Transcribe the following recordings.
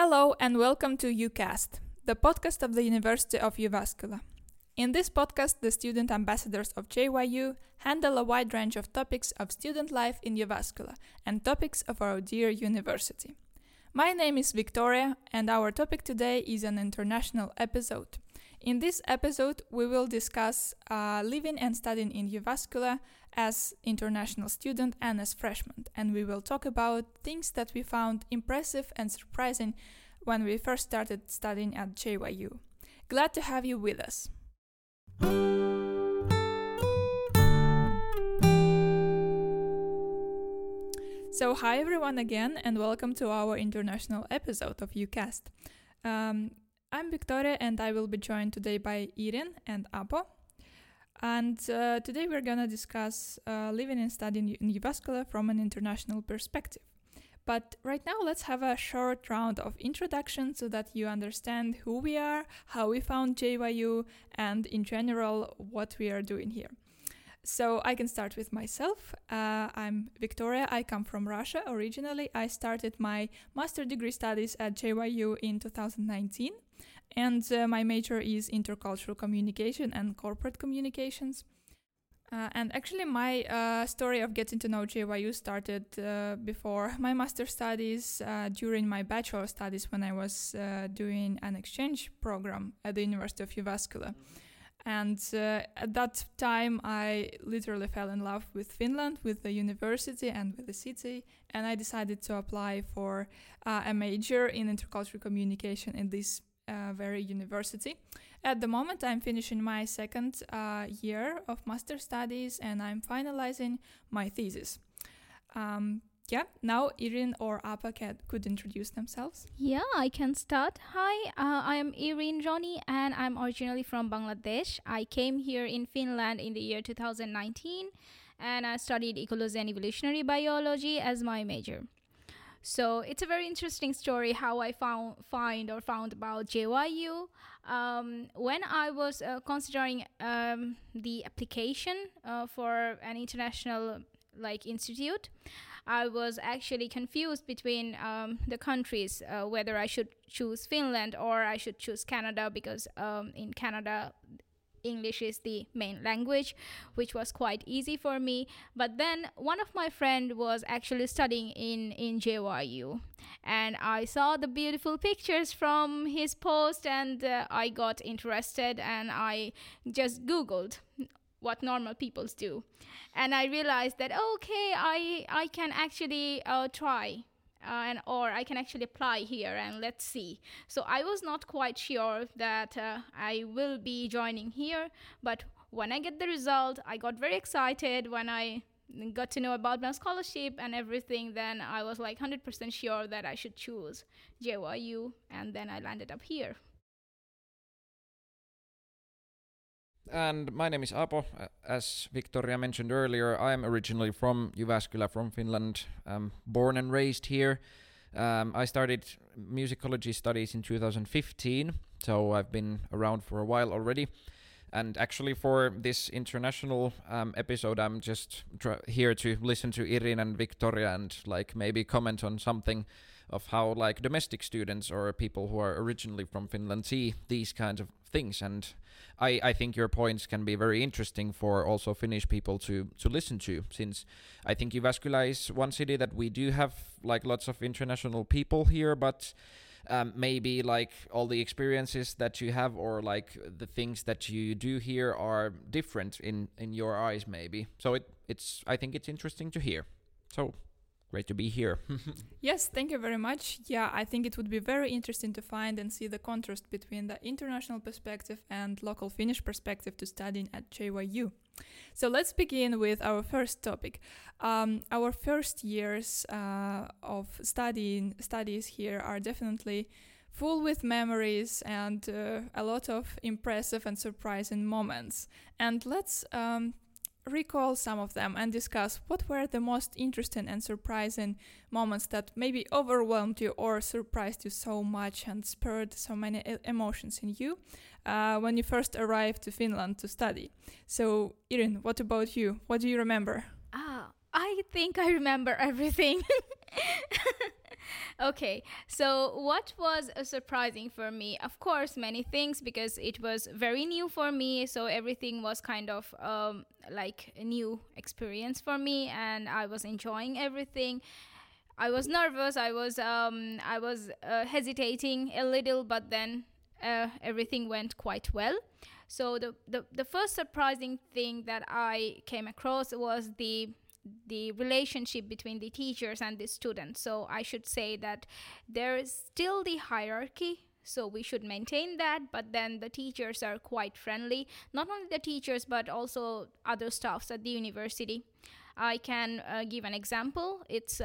Hello and welcome to UCast, the podcast of the University of Jyväskylä. In this podcast, the student ambassadors of JYU handle a wide range of topics of student life in Jyväskylä and topics of our dear university. My name is Victoria and our topic today is an international episode. In this episode, we will discuss living and studying in Jyväskylä as international student and as freshman, and we will talk about things that we found impressive and surprising when we first started studying at JYU. Glad to have you with us. So hi everyone again and welcome to our international episode of UCast. I'm Victoria and I will be joined today by Irin and Apo. And today we're gonna discuss living and studying in Jyväskylä from an international perspective. But right now let's have a short round of introduction so that you understand who we are, how we found JYU, and in general what we are doing here. So I can start with myself. I'm Victoria. I come from Russia originally. I started my master degree studies at JYU in 2019. And my major is intercultural communication and corporate communications. And actually my story of getting to know JYU started before my master studies, during my bachelor studies when I was doing an exchange program at the University of Jyväskylä. And at that time, I literally fell in love with Finland, with the university and with the city. And I decided to apply for a major in intercultural communication in this very university. At the moment, I'm finishing my second year of master studies and I'm finalizing my thesis. Now Irin or Apa could introduce themselves. Yeah, I can start. Hi, I am Irin Joni and I'm originally from Bangladesh. I came here in Finland in the year 2019 and I studied ecology and evolutionary biology as my major. So it's a very interesting story how I found about JYU. When I was considering the application for an international institute, I was actually confused between the countries, whether I should choose Finland or I should choose Canada, because in Canada, English is the main language, which was quite easy for me. But then one of my friend was actually studying in JYU, and I saw the beautiful pictures from his post, and I got interested, and I just Googled what normal people do, and I realized that okay, I can actually try. Or I can actually apply here and let's see. So I was not quite sure that I will be joining here, but when I get the result, I got very excited. When I got to know about my scholarship and everything, then I was 100% sure that I should choose JYU, and then I landed up here. And my name is Apo. As Victoria mentioned earlier, I'm originally from Jyväskylä, from Finland. Born and raised here. I started musicology studies in 2015, so I've been around for a while already. And actually for this international episode, I'm just here to listen to Irin and Victoria and maybe comment on something of how domestic students or people who are originally from Finland see these kinds of things. And I think your points can be very interesting for also Finnish people to listen to, since I think Jyväskylä is one city that we do have lots of international people here, but maybe all the experiences that you have or the things that you do here are different in your eyes maybe. So I think it's interesting to hear. So great to be here. Yes, thank you very much. Yeah, I think it would be very interesting to find and see the contrast between the international perspective and local Finnish perspective to studying at JYU. So let's begin with our first topic. Our first years of studies here are definitely full with memories and a lot of impressive and surprising moments. And let's recall some of them and discuss what were the most interesting and surprising moments that maybe overwhelmed you or surprised you so much and spurred so many emotions in you when you first arrived to Finland to study. So Irin, what about you? What do you remember? I think I remember everything. Okay, so what was surprising for me? Of course, many things because it was very new for me. So everything was kind of like a new experience for me, and I was enjoying everything. I was nervous. I was hesitating a little, but then everything went quite well. So the first surprising thing that I came across was the relationship between the teachers and the students. So I should say that there is still the hierarchy. So we should maintain that, but then the teachers are quite friendly. Not only the teachers, but also other staffs at the university. I can give an example.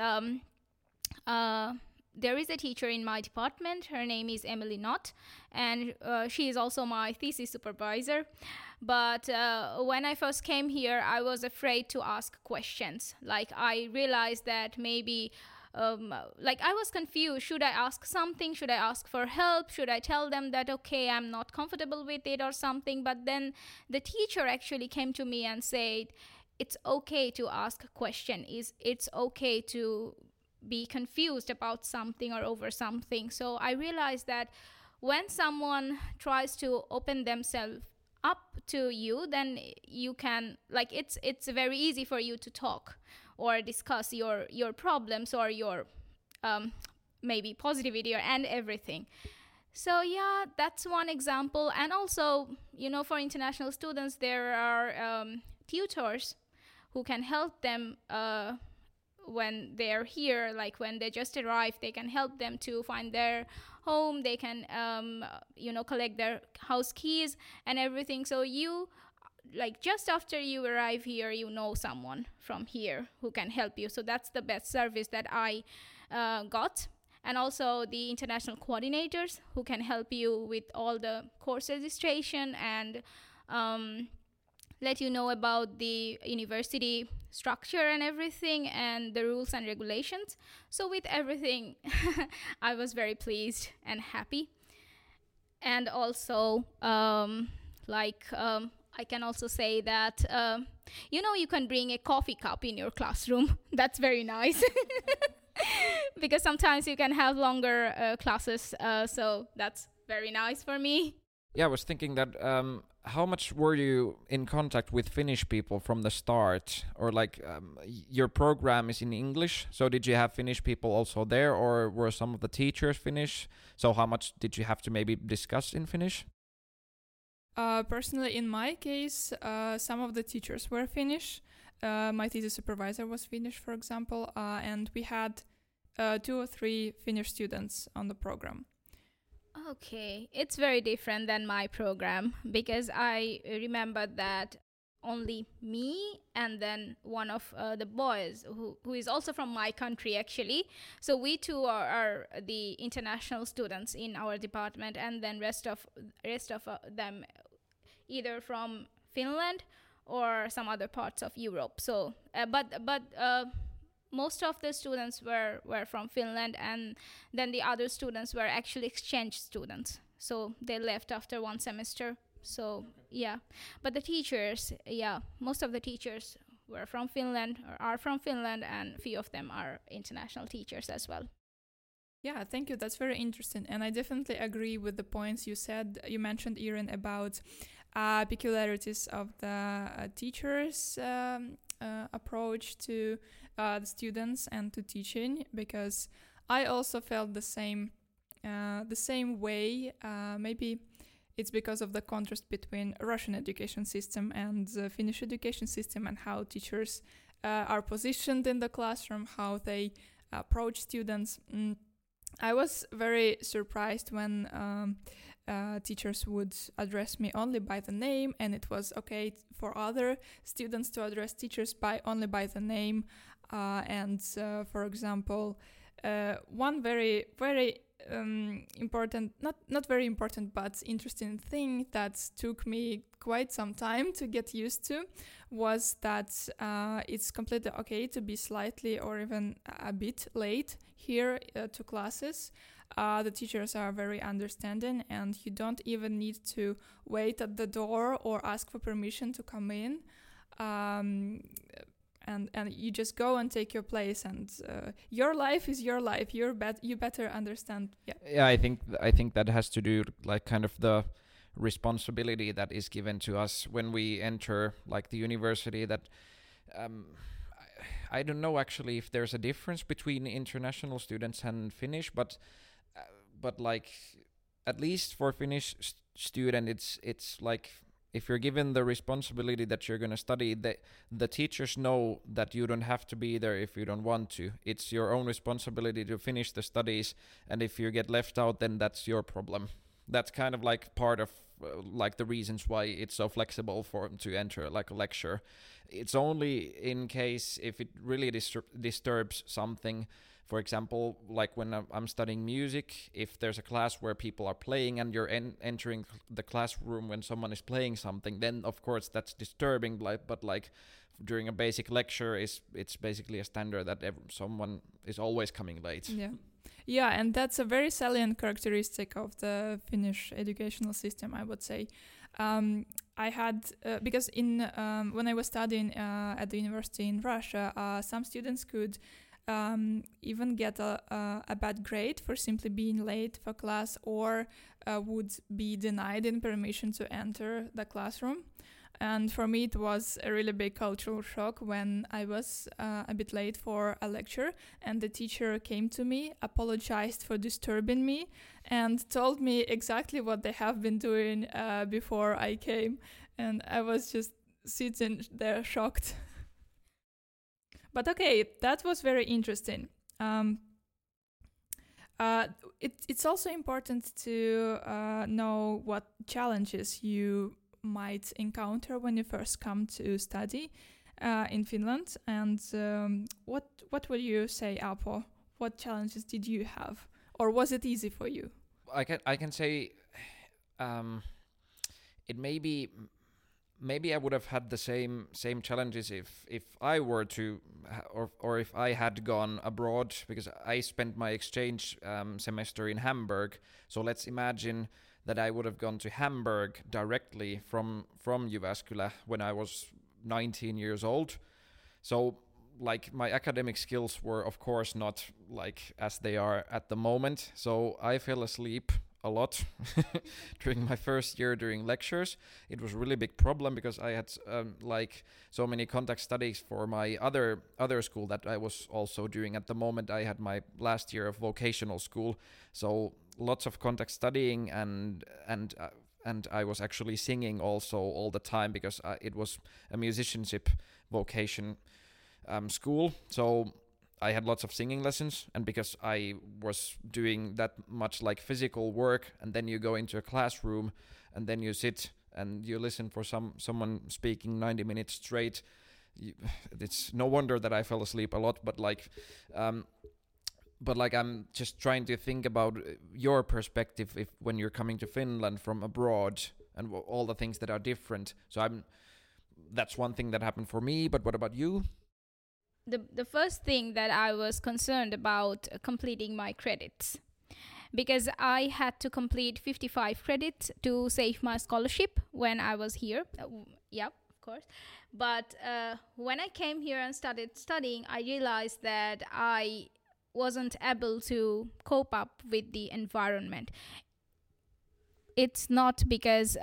There is a teacher in my department. Her name is Emily Knott, and she is also my thesis supervisor. But when I first came here, I was afraid to ask questions. Like, I realized that maybe like I was confused. Should I ask something? Should I ask for help? Should I tell them that, okay, I'm not comfortable with it or something? But then the teacher actually came to me and said, it's okay to ask a question. It's okay to be confused about something or over something. So I realized that when someone tries to open themselves up to you, then you can, like, it's very easy for you to talk or discuss your problems or your maybe positivity and everything. So yeah, that's one example. And also, for international students, there are tutors who can help them when they're here. Like, when they just arrive, they can help them to find their home. They can collect their house keys and everything. So you, like, just after you arrive here, you know someone from here who can help you. So that's the best service that I got. And also the international coordinators who can help you with all the course registration and let you know about the university structure and everything and the rules and regulations. So with everything, I was very pleased and happy. And also, I can also say that, you can bring a coffee cup in your classroom. That's very nice. Because sometimes you can have longer classes. So that's very nice for me. Yeah, I was thinking that how much were you in contact with Finnish people from the start? Or like your program is in English, so did you have Finnish people also there, or were some of the teachers Finnish? So how much did you have to maybe discuss in Finnish? Personally, in my case, some of the teachers were Finnish. My thesis supervisor was Finnish, for example, and we had 2 or 3 Finnish students on the program. Okay, it's very different than my program because I remember that only me and then one of the boys who is also from my country actually. So we two are the international students in our department, and then rest of them either from Finland or some other parts of Europe. So but most of the students were from Finland, and then the other students were actually exchange students. So they left after 1 semester. So yeah, but the teachers, most of the teachers were from Finland or are from Finland, and few of them are international teachers as well. Yeah, thank you. That's very interesting. And I definitely agree with the points you said. You mentioned, Irin, about peculiarities of the teachers' approach to the students and to teaching, because I also felt the same way. Maybe it's because of the contrast between Russian education system and the Finnish education system, and how teachers are positioned in the classroom, how they approach students. I was very surprised when teachers would address me only by the name, and it was okay for other students to address teachers only by the name. For example, one very, very important, not very important, but interesting thing that took me quite some time to get used to was that it's completely okay to be slightly or even a bit late here to classes. The teachers are very understanding, and you don't even need to wait at the door or ask for permission to come in. and you just go and take your place, and your life is your life. You better understand. Yeah, I think that has to do like kind of the responsibility that is given to us when we enter like the university. That I don't know actually if there's a difference between international students and Finnish, but like at least for Finnish student, it's like if you're given the responsibility that you're going to study, the teachers know that you don't have to be there if you don't want to. It's your own responsibility to finish the studies, and if you get left out, then that's your problem. That's kind of like part of like the reasons why it's so flexible for to enter like a lecture. It's only in case if it really disturbs something. For example, like when I'm studying music, if there's a class where people are playing and you're entering the classroom when someone is playing something, then of course that's disturbing. But like during a basic lecture, it's basically a standard that someone is always coming late. Yeah, and that's a very salient characteristic of the Finnish educational system, I would say. I had because when I was studying at the university in Russia, some students could even get a bad grade for simply being late for class, or would be denied in permission to enter the classroom. And for me, it was a really big cultural shock when I was a bit late for a lecture, and the teacher came to me, apologized for disturbing me, and told me exactly what they have been doing before I came. And I was just sitting there shocked. But okay, that was very interesting. It's also important to know what challenges you might encounter when you first come to study in Finland. And what would you say, Apo? What challenges did you have, or was it easy for you? I can say it maybe I would have had the same challenges if I were to or if I had gone abroad, because I spent my exchange semester in Hamburg. So let's imagine that I would have gone to Hamburg directly from Jyväskylä when I was 19 years old. So like my academic skills were of course not like as they are at the moment. So I fell asleep a lot during my first year during lectures. It was a really big problem because I had like so many contact studies for my other school that I was also doing. At the moment I had my last year of vocational school, so lots of contact studying, and I was actually singing also all the time because it was a musicianship vocation school. So I had lots of singing lessons, and because I was doing that much like physical work, and then you go into a classroom and then you sit and you listen for someone speaking 90 minutes straight, it's no wonder that I fell asleep a lot. But I'm just trying to think about your perspective if when you're coming to Finland from abroad and all the things that are different. So that's one thing that happened for me, but what about you? The first thing that I was concerned about completing my credits, because I had to complete 55 credits to save my scholarship when I was here. Yeah, of course. But when I came here and started studying, I realized that I wasn't able to cope up with the environment. It's not because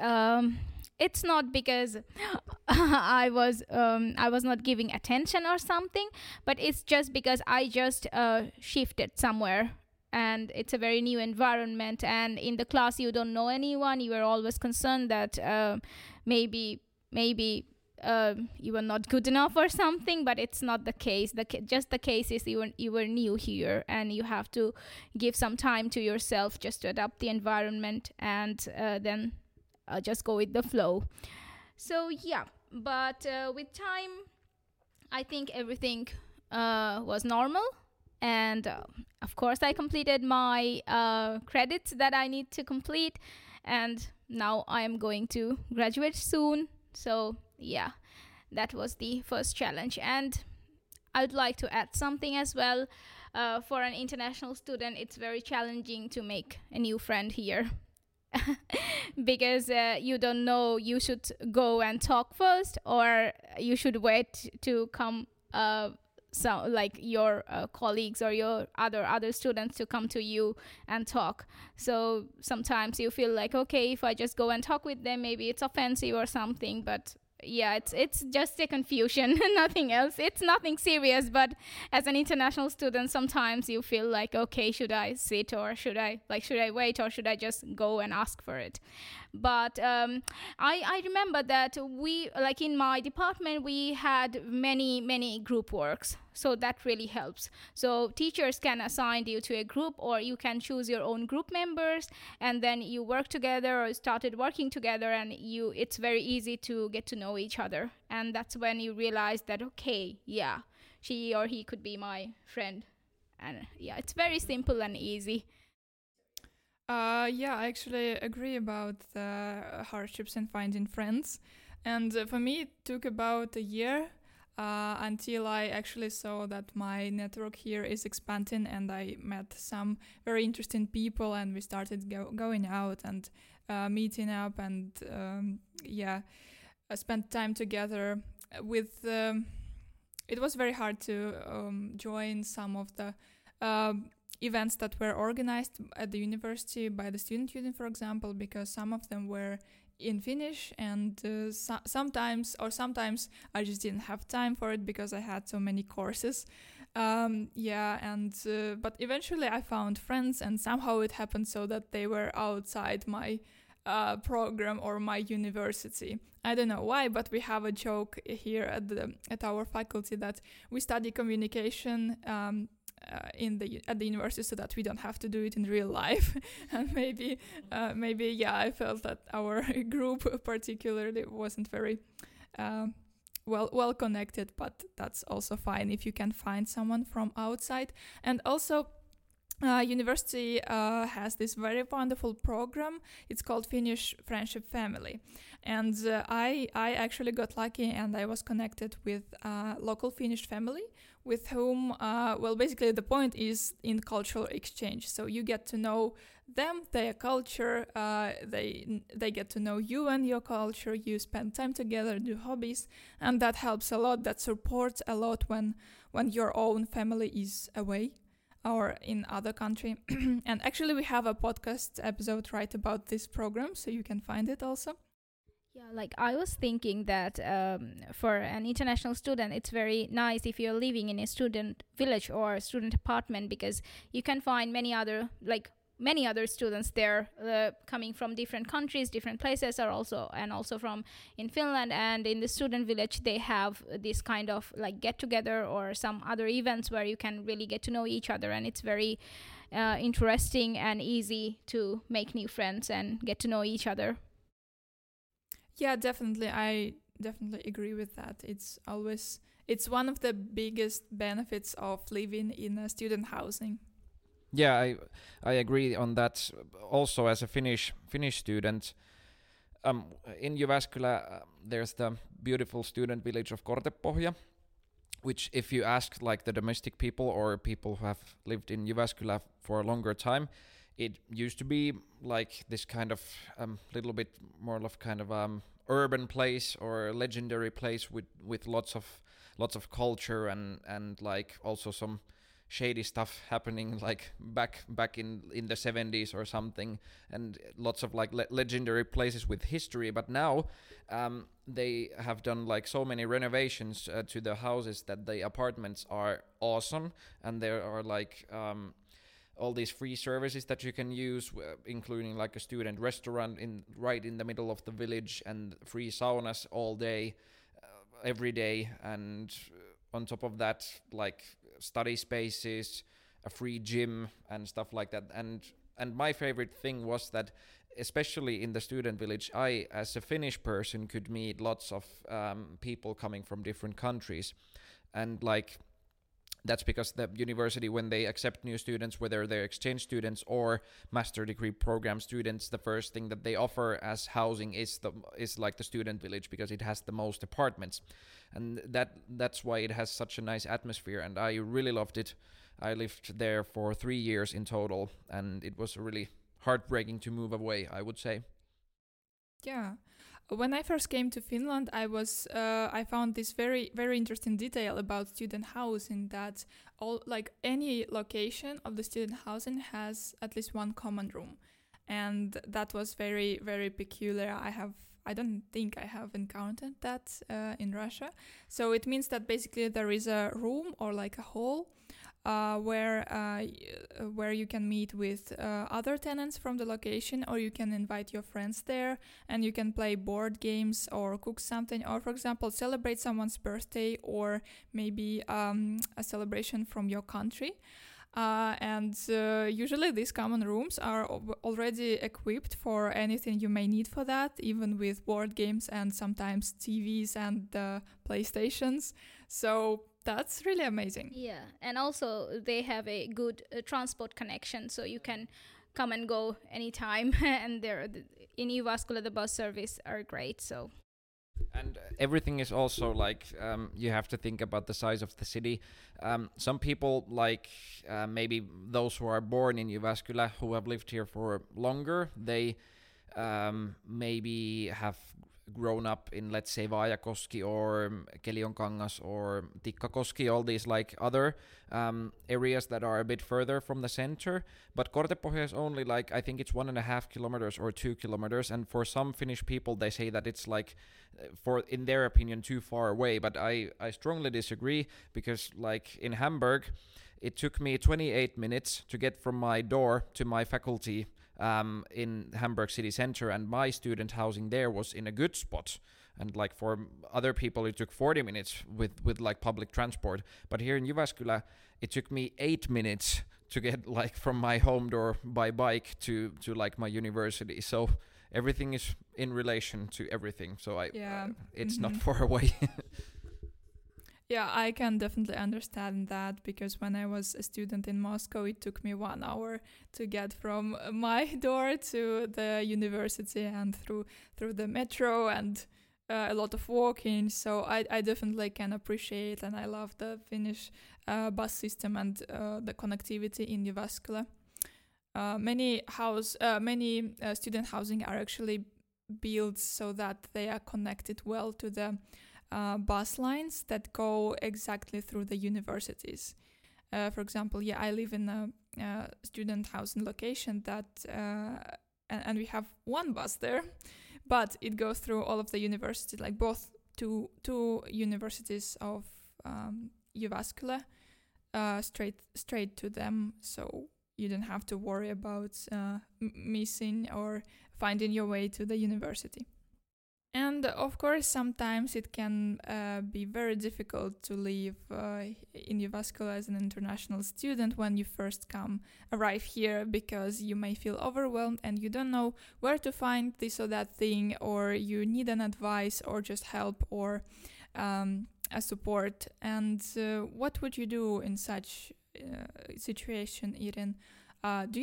I was not giving attention or something, but it's just because I just shifted somewhere, and it's a very new environment, and in the class you don't know anyone. You are always concerned that maybe you were not good enough or something, but it's not the case. Just the case is you were new here, and you have to give some time to yourself just to adapt the environment, and then just go with the flow. So yeah, but with time, I think everything was normal, and of course I completed my credits that I need to complete, and now I am going to graduate soon. So yeah, that was the first challenge. And I'd like to add something as well. For an international student, it's very challenging to make a new friend here. Because you don't know, you should go and talk first, or you should wait to come so like your colleagues or your other students to come to you and talk. So sometimes you feel like, okay, if I just go and talk with them, maybe it's offensive or something, but yeah, it's just a confusion, nothing else. It's nothing serious, but as an international student, sometimes you feel like, okay, should I sit, or should I wait, or should I just go and ask for it? But I remember that we, like in my department, we had many group works, so that really helps. So teachers can assign you to a group, or you can choose your own group members, and then you work together or started working together, and it's very easy to get to know each other. And that's when you realize that, okay, yeah, she or he could be my friend. And yeah, it's very simple and easy. Yeah, I actually agree about the hardships in finding friends. And for me, it took about a year until I actually saw that my network here is expanding, and I met some very interesting people, and we started going out and meeting up, and spent time together. With It was very hard to join some of the events that were organized at the university by the student union, for example, because some of them were in Finnish, and sometimes I just didn't have time for it because I had so many courses. But eventually I found friends, and somehow it happened so that they were outside my program or my university. I don't know why, but we have a joke here at our faculty that we study communication at the university so that we don't have to do it in real life. And maybe I felt that our group particularly wasn't very well connected, but that's also fine if you can find someone from outside. And also university has this very wonderful program. It's called Finnish Friendship Family, and I actually got lucky, and I was connected with a local Finnish family with whom, basically the point is in cultural exchange. So you get to know them, their culture, they get to know you and your culture. You spend time together, do hobbies, and that helps a lot. That supports a lot when your own family is away or in other country. And actually we have a podcast episode right about this program, so you can find it also. Yeah, like I was thinking that for an international student, it's very nice if you're living in a student village or student apartment, because you can find many other students there, coming from different countries, different places, also from in Finland. And in the student village, they have this kind of like get together or some other events where you can really get to know each other, and it's very interesting and easy to make new friends and get to know each other. Yeah, definitely. I definitely agree with that. It's one of the biggest benefits of living in a student housing. Yeah, I agree on that. Also, as a Finnish student, in Jyväskylä, there's the beautiful student village of Kortepohja, which, if you ask like the domestic people or people who have lived in Jyväskylä for a longer time, it used to be like this kind of little bit more of kind of urban place or legendary place with lots of culture and like also some shady stuff happening like back in the 70s or something, and lots of like legendary places with history. But now they have done like so many renovations to the houses that the apartments are awesome, and there are like all these free services that you can use, including like a student restaurant right in the middle of the village, and free saunas all day, every day, and on top of that, like study spaces, a free gym, and stuff like that. And my favorite thing was that, especially in the student village, I, as a Finnish person, could meet lots of people coming from different countries, and like that's because the university, when they accept new students, whether they're exchange students or master degree program students, the first thing that they offer as housing is like the student village, because it has the most apartments, and that's why it has such a nice atmosphere. And I really loved it. I lived there for 3 years in total, and it was really heartbreaking to move away, I would say. Yeah. When I first came to Finland, I found this very very interesting detail about student housing, that all, like, any location of the student housing has at least one common room, and that was very very peculiar. I don't think I have encountered that in Russia. So it means that basically there is a room or like a hall where you can meet with other tenants from the location, or you can invite your friends there, and you can play board games or cook something, or for example celebrate someone's birthday, or maybe a celebration from your country. And usually these common rooms are already equipped for anything you may need for that, even with board games and sometimes TVs and PlayStations. So that's really amazing. Yeah, and also they have a good transport connection, so you can come and go anytime. And in Jyväskylä the bus service are great. So And everything is also like you have to think about the size of the city. Some people, like maybe those who are born in Jyväskylä, who have lived here for longer, they maybe have grown up in, let's say, Vaajakoski or Kelionkangas or Tikkakoski, all these like other areas that are a bit further from the center. But Kortepohja is only like, I think it's 1.5 kilometers or 2 kilometers, and for some Finnish people they say that it's like, for in their opinion, too far away. But I strongly disagree, because like in Hamburg it took me 28 minutes to get from my door to my faculty in Hamburg city center, and my student housing there was in a good spot. And like for other people it took 40 minutes with like public transport. But here in Jyväskylä it took me 8 minutes to get like from my home door by bike to like my university. So everything is in relation to everything. So it's not far away. Yeah, I can definitely understand that, because when I was a student in Moscow, it took me 1 hour to get from my door to the university, and through the metro, and a lot of walking. So I definitely can appreciate, and I love the Finnish bus system and the connectivity in Jyväskylä. Many student housing are actually built so that they are connected well to the bus lines that go exactly through the universities. For example, I live in a student housing location that, and we have one bus there, but it goes through all of the universities, like both two universities of Jyväskylä, straight to them. So you don't have to worry about missing or finding your way to the university. And of course, sometimes it can be very difficult to live in Jyväskylä as an international student when you first arrive here, because you may feel overwhelmed and you don't know where to find this or that thing, or you need an advice or just help or a support. And what would you do in such situation, Irin? Do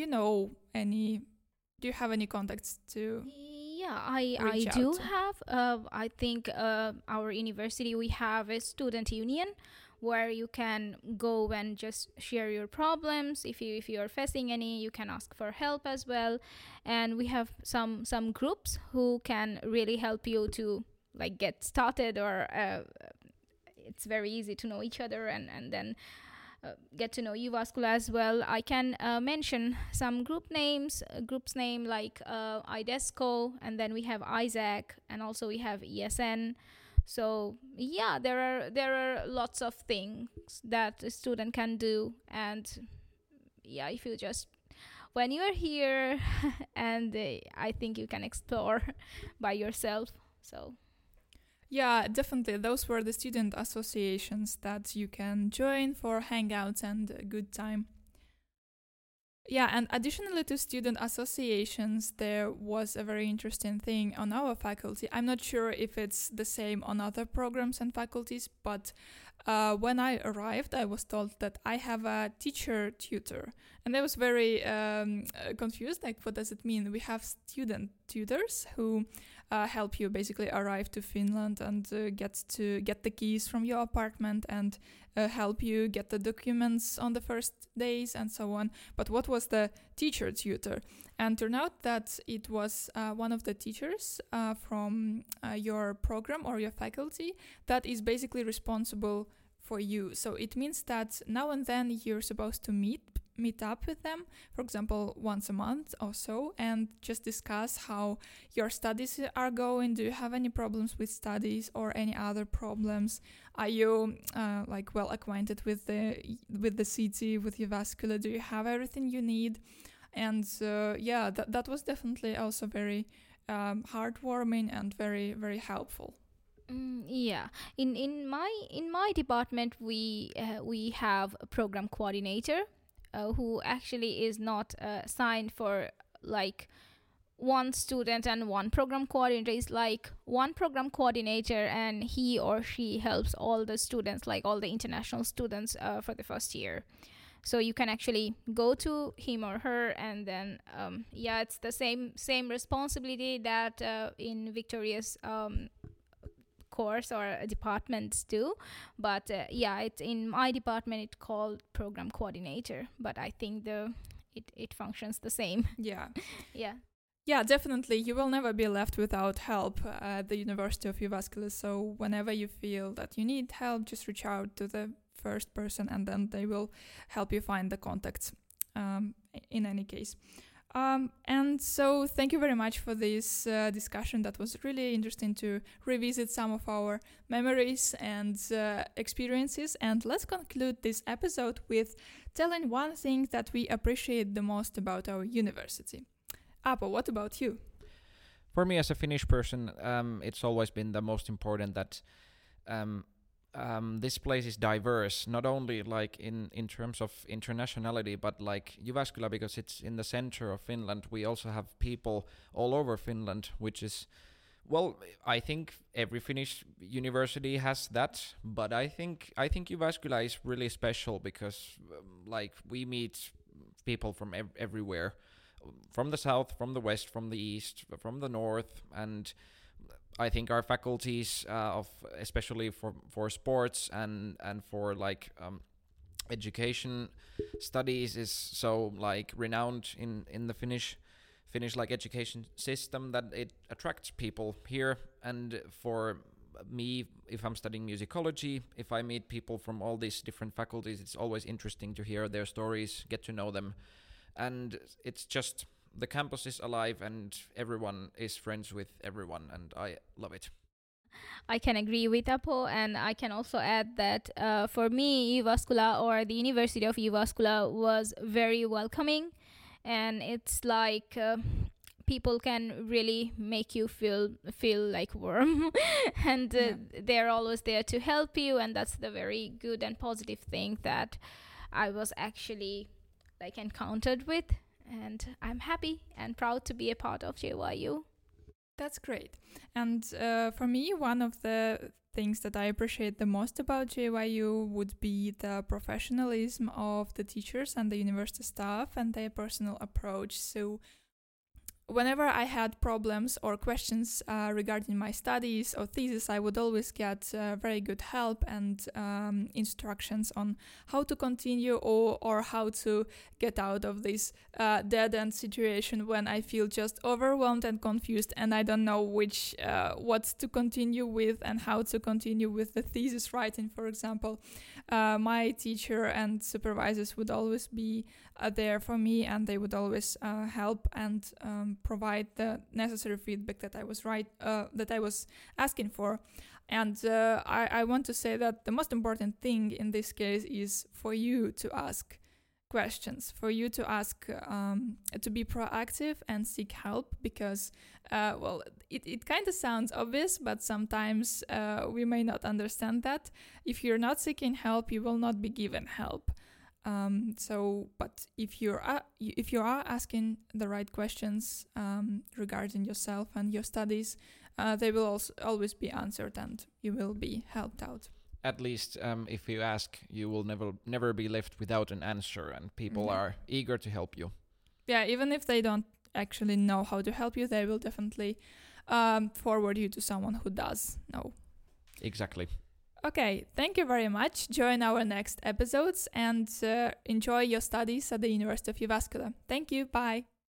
you have any contacts to? Yeah, I do have. I think our university, we have a student union where you can go and just share your problems. If you are facing any, you can ask for help as well. And we have some groups who can really help you to like get started, or it's very easy to know each other and then get to know Jyväskylä as well. I can mention some groups name like IDESCO, and then we have Isaac, and also we have ESN. So yeah, there are lots of things that a student can do, and yeah, if you just when you are here, and I think you can explore by yourself. So. Yeah, definitely. Those were the student associations that you can join for hangouts and a good time. Yeah, and additionally to student associations, there was a very interesting thing on our faculty. I'm not sure if it's the same on other programs and faculties, but when I arrived, I was told that I have a teacher tutor. And I was very confused, like, what does it mean? We have student tutors who help you basically arrive to Finland and get the keys from your apartment and help you get the documents on the first days and so on. But what was the teacher tutor. And turned out that it was one of the teachers from your program or your faculty that is basically responsible for you. So it means that now and then you're supposed to meet up with them, for example, once a month or so, and just discuss how your studies are going. Do you have any problems with studies or any other problems? Are you well acquainted with the city, with Jyväskylä? Do you have everything you need? And that was definitely also very heartwarming and very, very helpful. Yeah, in my department we have a program coordinator who actually is not assigned for like one student and one program coordinator. Is like one program coordinator, and he or she helps all the students, like all the international students for the first year. So you can actually go to him or her, and then it's the same responsibility that in Victoria's course or departments do, but it's in my department it's called program coordinator, but I think it functions the same. Yeah, definitely you will never be left without help at the University of Jyväskylä. So whenever you feel that you need help, just reach out to the first person, and then they will help you find the contacts in any case. And so thank you very much for this discussion. That was really interesting to revisit some of our memories and experiences. And let's conclude this episode with telling one thing that we appreciate the most about our university. Aapo, what about you? For me as a Finnish person, it's always been the most important that this place is diverse, not only like in terms of internationality, but like Jyväskylä, because it's in the center of Finland. We also have people all over Finland, which is, well, I think every Finnish university has that, but I think Jyväskylä is really special because like we meet people from everywhere, from the south, from the west, from the east, from the north, and I think our faculties especially for sports and for like education studies is so like renowned in the Finnish like education system that it attracts people here. And for me, if I'm studying musicology, if I meet people from all these different faculties, it's always interesting to hear their stories, get to know them, and it's just the campus is alive and everyone is friends with everyone, and I love it. I can agree with Aapo, and I can also add that for me, Jyväskylä or the University of Jyväskylä was very welcoming, and it's like people can really make you feel like warm, and they're always there to help you, and that's the very good and positive thing that I was actually like encountered with. And I'm happy and proud to be a part of JYU. That's great. And for me, one of the things that I appreciate the most about JYU would be the professionalism of the teachers and the university staff and their personal approach. So whenever I had problems or questions regarding my studies or thesis, I would always get very good help and instructions on how to continue or how to get out of this dead-end situation when I feel just overwhelmed and confused and I don't know what to continue with and how to continue with the thesis writing, for example. My teacher and supervisors would always be there for me, and they would always help and provide the necessary feedback that I was asking for. And I want to say that the most important thing in this case is for you to ask questions, for you to ask, to be proactive and seek help, because, it kind of sounds obvious, but sometimes we may not understand that. If you're not seeking help, you will not be given help. But if you are asking the right questions regarding yourself and your studies, they will also always be answered and you will be helped out. At least if you ask, you will never be left without an answer, and people are eager to help you. Yeah, even if they don't actually know how to help you, they will definitely forward you to someone who does know. Exactly. Okay, thank you very much. Join our next episodes and enjoy your studies at the University of Jyväskylä. Thank you. Bye.